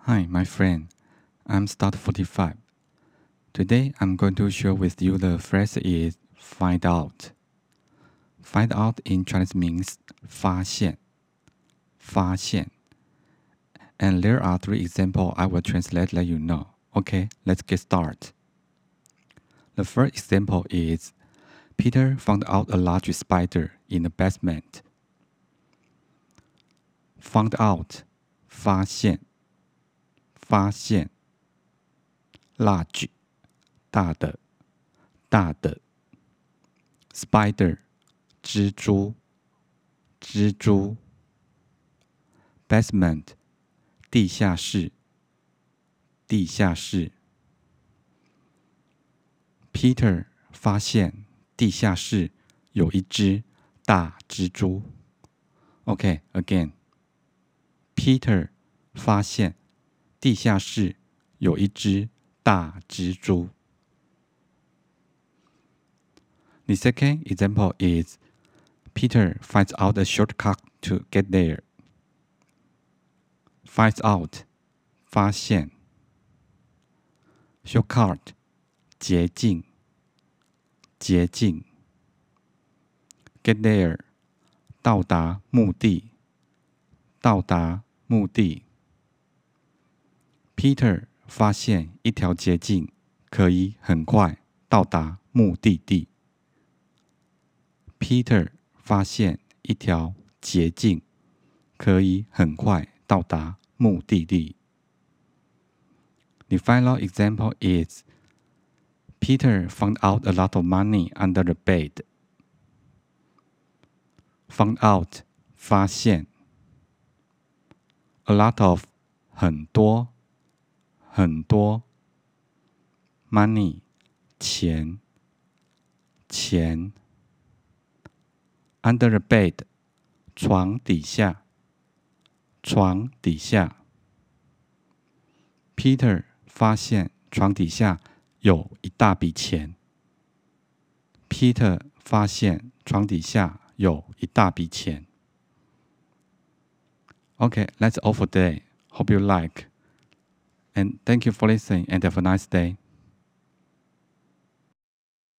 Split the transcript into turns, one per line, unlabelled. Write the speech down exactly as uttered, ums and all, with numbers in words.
Hi, my friend. I'm Start forty-five. Today I'm going to share with you the phrase is find out. Find out in Chinese means 发现,发现. And there are three examples I will translate let you know. Okay, let's get started. The first example is Peter found out a large spider in the basement. Found out, 发现,发现. Large, 大的,大的. Spider, 蜘蛛,蜘蛛. Basement, 地下室,地下室. Peter 发现地下室有一只大蜘蛛。Okay, again. Peter 发现地下室有一只大蜘蛛。The second example is Peter finds out a shortcut to get there. Finds out, 发现。Shortcut, 捷径，捷径。Get there, 到达目的，到达目的。Peter 发现一条捷径可以很快到达目的地。Peter 发现一条捷径可以很快到达目的地。The final example is Peter found out a lot of money under the bed. Found out, 发现。A lot of, 很多，很多。Money, 钱，钱。Under the bed, 床底下，床底下。Peter 发现床底下有一大笔钱。Peter 发现床底下有一大笔钱。Okay, that's all for today. Hope you like. And thank you for listening and have a nice day.